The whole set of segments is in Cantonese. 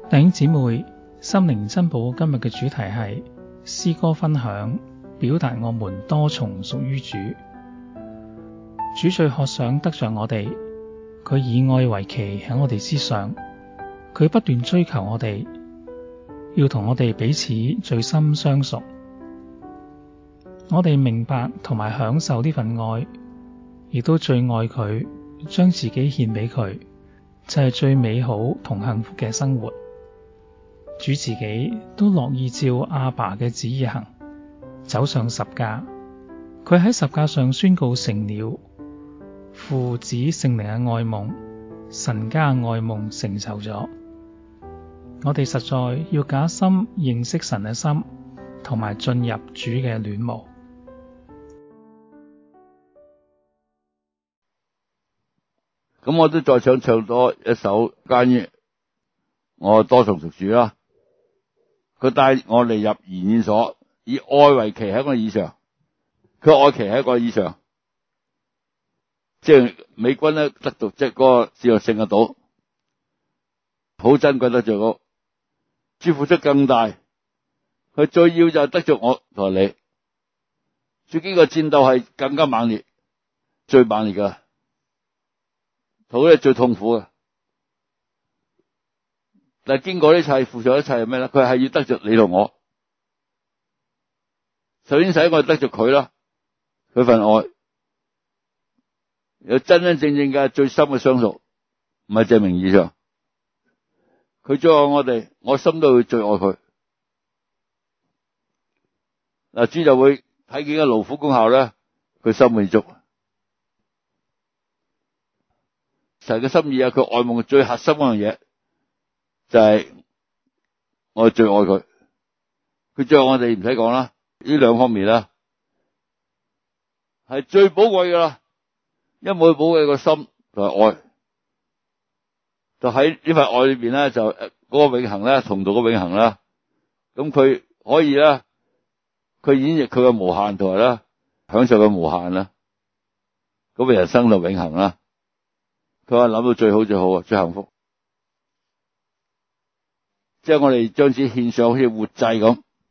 弟兄姊妹，心靈珍寶今日嘅主題係詩歌分享，表達我們多重屬於主。主最渴想得着我哋，佢以愛為旗喺我哋之上，佢不斷追求我哋，要同我哋彼此最深相熟。我哋明白同埋享受呢份愛，亦都最愛佢，將自己獻俾佢，就係最美好同幸福嘅生活。主自己都樂意照阿爸嘅旨意行，走上十架。佢喺十架上宣告成了，父子聖靈嘅愛夢，神家嘅愛夢成就咗。我哋實在要假心認識神嘅心，同埋進入主嘅戀慕。 咁我都再想唱多一首關於我多重屬主啦。佢帶我哋入筵宴所，以愛為旗喺我以上，佢愛旗喺我以上，即係美軍咧得到即係嗰個使用性嘅島，好珍貴得着我，主付出更大，佢最要就係得着我同你，最經過戰鬥係更加猛烈，最猛烈噶。好咧，最痛苦嘅，但係經過呢一切，付上一切係咩咧？佢係要得着你同我，首先使我得着佢啦，佢份愛有真真正正嘅最深嘅相屬，唔係淨名義上，佢最愛我哋，我心都會最愛佢。嗱，主就會睇見嘅勞苦功效咧，佢心滿意足。神嘅心意啊，佢愛夢最核心嗰樣嘢就係我最愛佢，佢最愛我哋唔使講啦，呢兩方面啦係最寶貴噶啦，因為冇寶貴個心同埋愛，就喺呢份愛裏邊咧，就嗰個永恆咧，同道嘅永恆啦。咁佢可以咧，佢演繹佢嘅無限同埋啦，享受嘅無限啦，咁嘅人生就永恆啦。佢話諗到最好最好啊，最幸福，即係我哋將自己獻上好似活祭咁，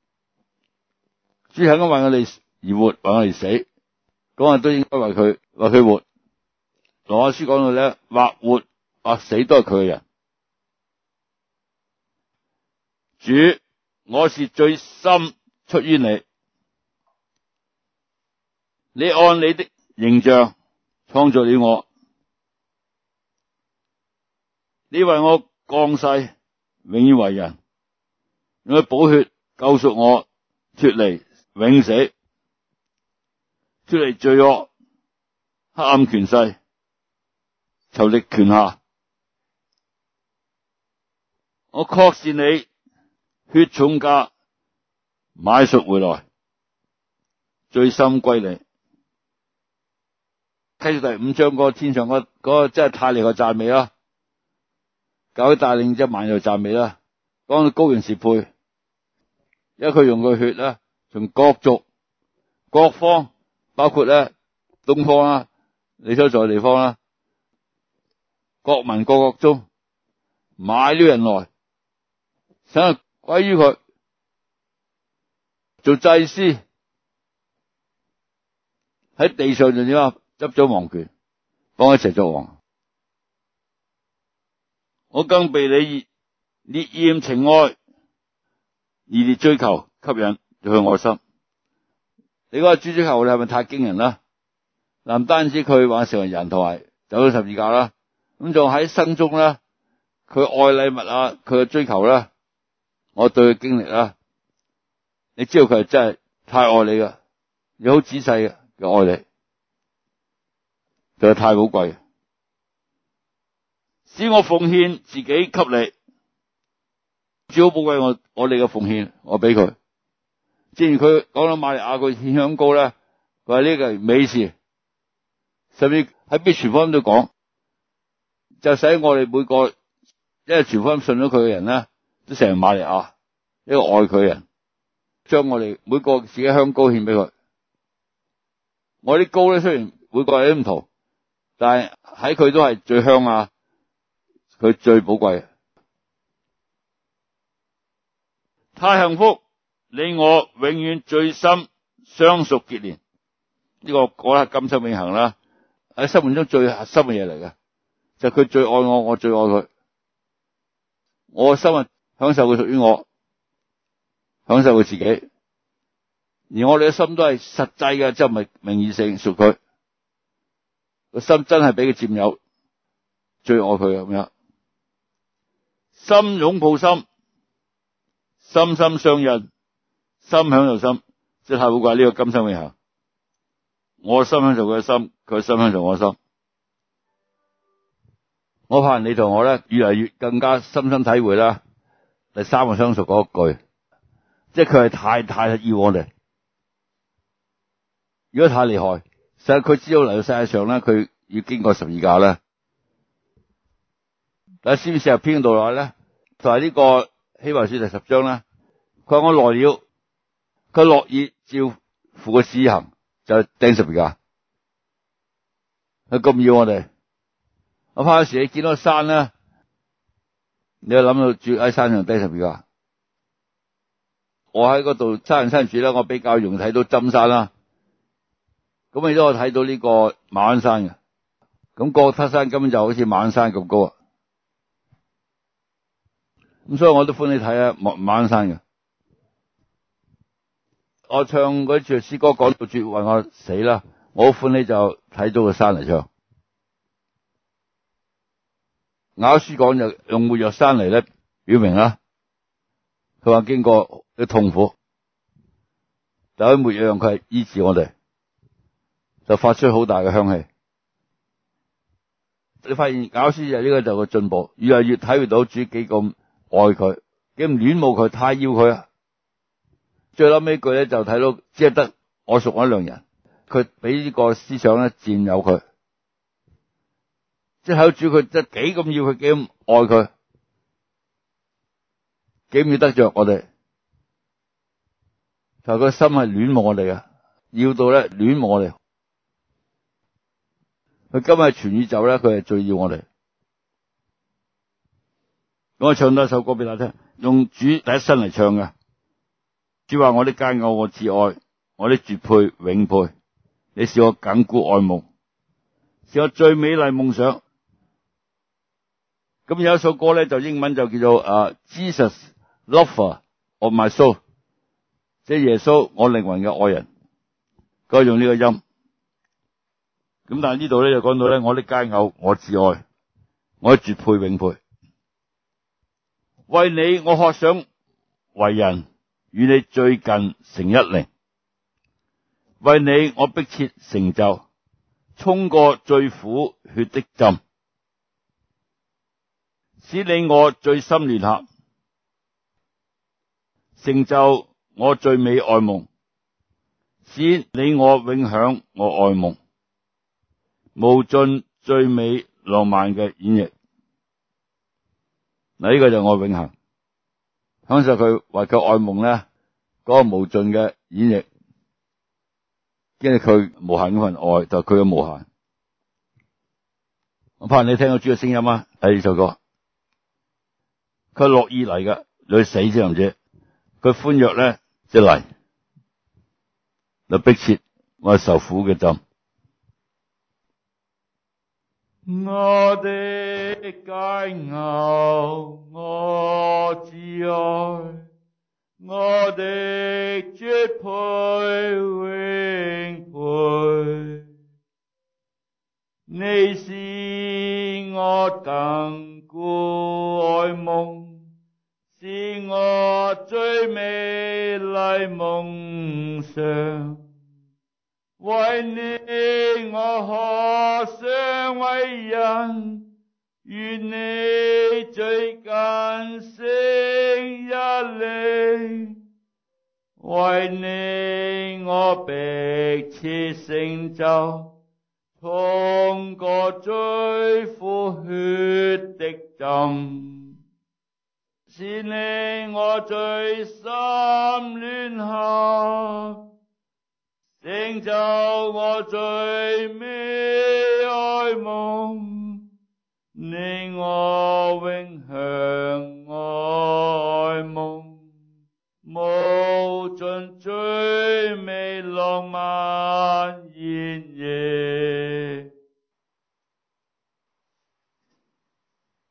主肯為我哋而活，為我哋死，咁都應該為佢活。羅馬書講到咧，或活或死都係佢嘅人。主，我是最深出於你，你按你的形象創造了我。你為我降世，永遠為人，用佢寶血救贖我，脫離永死，脫離罪惡、黑暗權勢、仇敵權下。我確是你血重價買贖回來，最深歸你。睇住第5章嗰個天上嗰個真係太厲害讚美啦！教會帶領1萬人讚美啦，講到羔羊是配，因為佢用佢血咧，從各族各方，包括咧東方啦，你所在嘅地方啦，各民各國中買了人來，使佢歸於佢，做祭司，喺地上就點啊，執咗王權，幫佢一齊作王。我更被你烈焰情愛熱烈追求吸引佢愛心。你嗰個主追求你係咪太驚人啦？嗱，唔單止佢話成為人同埋走咗十字架啦，咁仲喺生中啦，佢愛禮物啊，佢嘅追求啦，我對佢經歷啦，你知道佢係真係太愛你噶，你好仔細嘅愛你，佢係太寶貴。使我奉獻自己給你，最好寶貴我哋嘅奉獻，我俾佢。正如佢講到瑪利亞佢獻香膏咧，佢話呢個係美事，甚至喺邊傳福音都講，就使我哋每個因為傳福音信咗佢嘅人咧，都成為瑪利亞一個愛佢嘅人，將我哋每個自己香膏獻俾佢。我啲膏咧雖然每個人都唔同，但係喺佢都係最香啊！佢最寶貴， 太幸福，你我永遠最深相屬結連。呢個嗰刻今生永恆啦，喺生命中最核心嘅嘢嚟嘅，就係佢最愛我，我最愛佢。我嘅心啊，享受佢屬於我，享受佢自己。而我哋嘅心都係實際嘅，即係唔係名義性屬佢。個心真係俾佢佔有，最愛佢咁樣。心擁抱心，心心相印，心享受心，即係太寶貴呢個今生永恆。我心享受佢嘅心，佢嘅心享受我嘅心。我怕你同我咧越嚟越更加深深體會啦。第三個相屬嗰一句，即係佢係太要我哋。如果太厲害，實際佢知道嚟到世界上咧，佢要經過十字架咧。但係詩篇40篇度來咧，就係呢個希伯來書第10章咧。佢話我來了，佢樂意照父嘅旨意行，就係釘十字架。佢咁要我哋。我怕有時你見到山咧，你又諗到住喺山上釘十字架。我喺嗰度山上住咧，我比較容易睇到針山啦。咁你都可以睇到呢個馬鞍山嘅。咁哥特山根本就好似馬鞍山咁高啊。咁所以我都歡喜睇啊馬鞍山嘅。我唱嗰句詩歌講到絕為我死啦，我好歡喜就睇到個山嚟唱。雅歌書講就用沒藥山嚟咧表明啦，佢話經過啲痛苦，但係沒藥佢係醫治我哋，就發出好大嘅香氣。你發現雅歌書就呢個就個進步，越嚟越體會到主幾咁愛佢，幾咁戀慕佢，太要佢啊！最後尾句咧就睇到只係得我屬我一良人，佢俾呢個思想咧佔有佢。即係睇到主佢即係幾咁要佢，幾咁愛佢，幾唔要得着我哋，就佢心係戀慕我哋嘅，要到咧戀慕我哋。佢今日全宇宙咧，佢係最要我哋。我唱多一首歌俾大家聽，用主第一身嚟唱嘅。主話我的佳偶，我至愛，我的絕配永配，你是我緊固愛夢，是我最美麗夢想。咁有一首歌咧，就英文就叫做Jesus Lover of My Soul， 即係耶穌我靈魂嘅愛人，該用呢個音。咁但係呢度咧就講到咧，我的佳偶我至愛，我的絕配永配，為你我渴想為人，與你最近成一靈，為你我迫切成就，衝過最苦血的浸，使你我最深聯合，成就我最美愛夢，使你我永享我愛夢，無盡最美浪漫嘅演繹。嗱，呢個就係我永恆享受佢為佢愛夢咧嗰個無盡嘅演繹，經歷佢無限嗰份愛，就係佢嘅無限。我怕你聽到主嘅聲音啊！喺呢首歌，佢樂意嚟㗎，你去死先唔知。佢歡躍咧，即嚟，就迫切我受苦嘅浸。我的佳偶，我至愛，我的絕配永配，你是我緊固愛夢，是我最美麗夢想。為你我渴想為人，與你最近成一靈，為你我迫切成就，衝過最苦血的浸，使你我最深聯合，成就我最美愛夢，你我永享愛夢，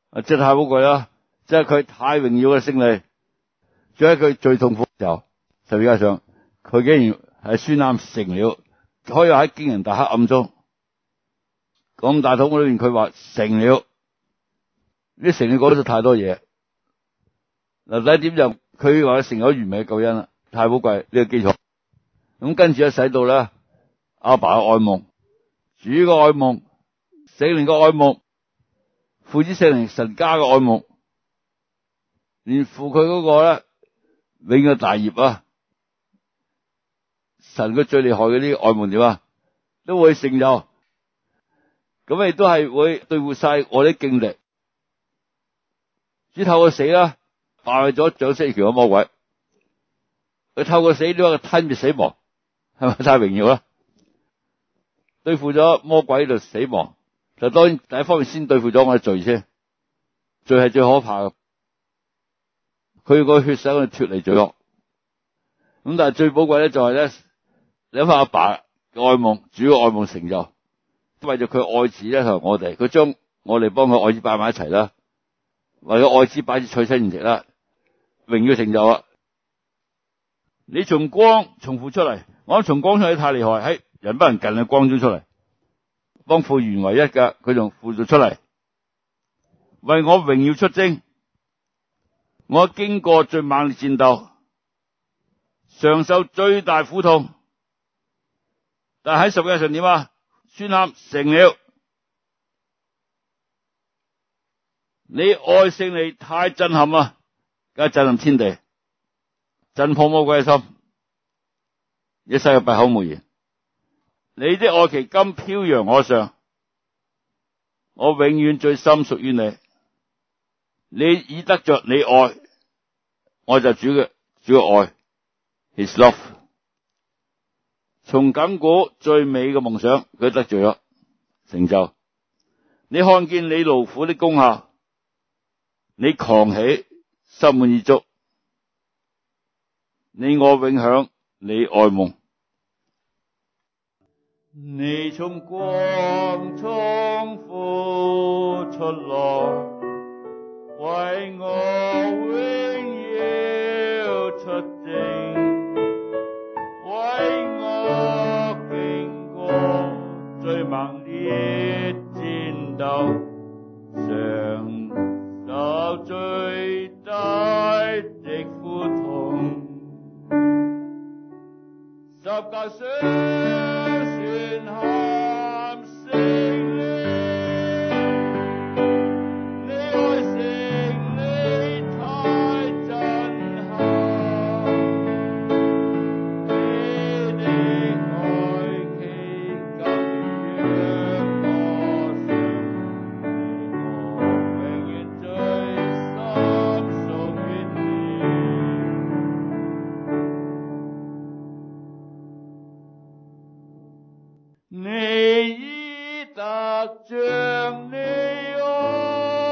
即係太寶貴啦，即係佢太榮耀嘅勝利。仲喺佢最痛苦嘅時候，十字架上，佢竟然係宣喊成了，可以喺驚人大黑暗中咁大痛苦裏面，佢話成了。呢成了講咗太多嘢。嗱，第一點就佢話成咗完美嘅救恩啦，太寶貴呢個基礎。咁跟住咧，使到咧阿爸嘅愛夢、主嘅愛夢、聖靈嘅愛夢、父子聖靈神家嘅愛夢，連父佢嗰個咧永嘅大業啊，神佢最厲害嘅呢個愛夢點啊，都會成就。咁亦都係會對付晒我啲經歷。主透過死啦，敗咗掌聲權嘅魔鬼。佢透過死呢個吞滅死亡，係咪太榮耀啦？對付咗魔鬼就死亡，就當然第一方面先對付咗我嘅罪先，罪係最可怕嘅。佢個血使我哋脫離罪惡。咁但係最寶貴咧就係咧，你諗下阿爸嘅愛夢，主嘅愛夢成就，為咗佢愛子咧同我哋，佢將我哋幫佢愛子擺埋一齊啦，為咗愛子擺住娶親筵席啦，榮耀成就啊！你從光從父出嚟，我諗從光出嚟太厲害，喺人不能近嘅光中出嚟，幫父原為一㗎，佢從父度出嚟，為我榮耀出征。我經過最猛烈戰鬥，嘗受最大苦痛，但係喺十字架上點啊？宣喊成了。你愛勝利太震撼啊，梗係震撼天地，震破魔鬼嘅心，一世嘅閉口無言。你的愛旗今飄揚我上，我永遠最深屬於你。你已得着你愛，我就主嘅愛 ，His love。從亙古最美嘅夢想，佢得罪咗成就。你看見你勞苦的功效，你狂喜，心滿意足。你我永享你愛夢。你從光從父出來，為我榮耀出征，為我經過最猛烈戰鬥，嘗受最大的苦痛，十架上宣喊勝了。你愛勝利太震撼，你的愛旗今飄揚我上，我永遠最深屬於你。你已得着你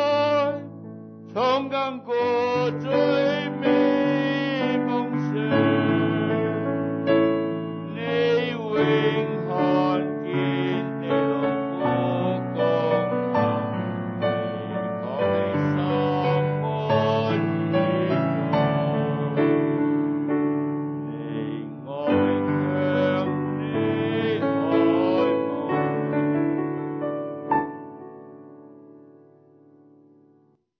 愛，從亙古最美夢想，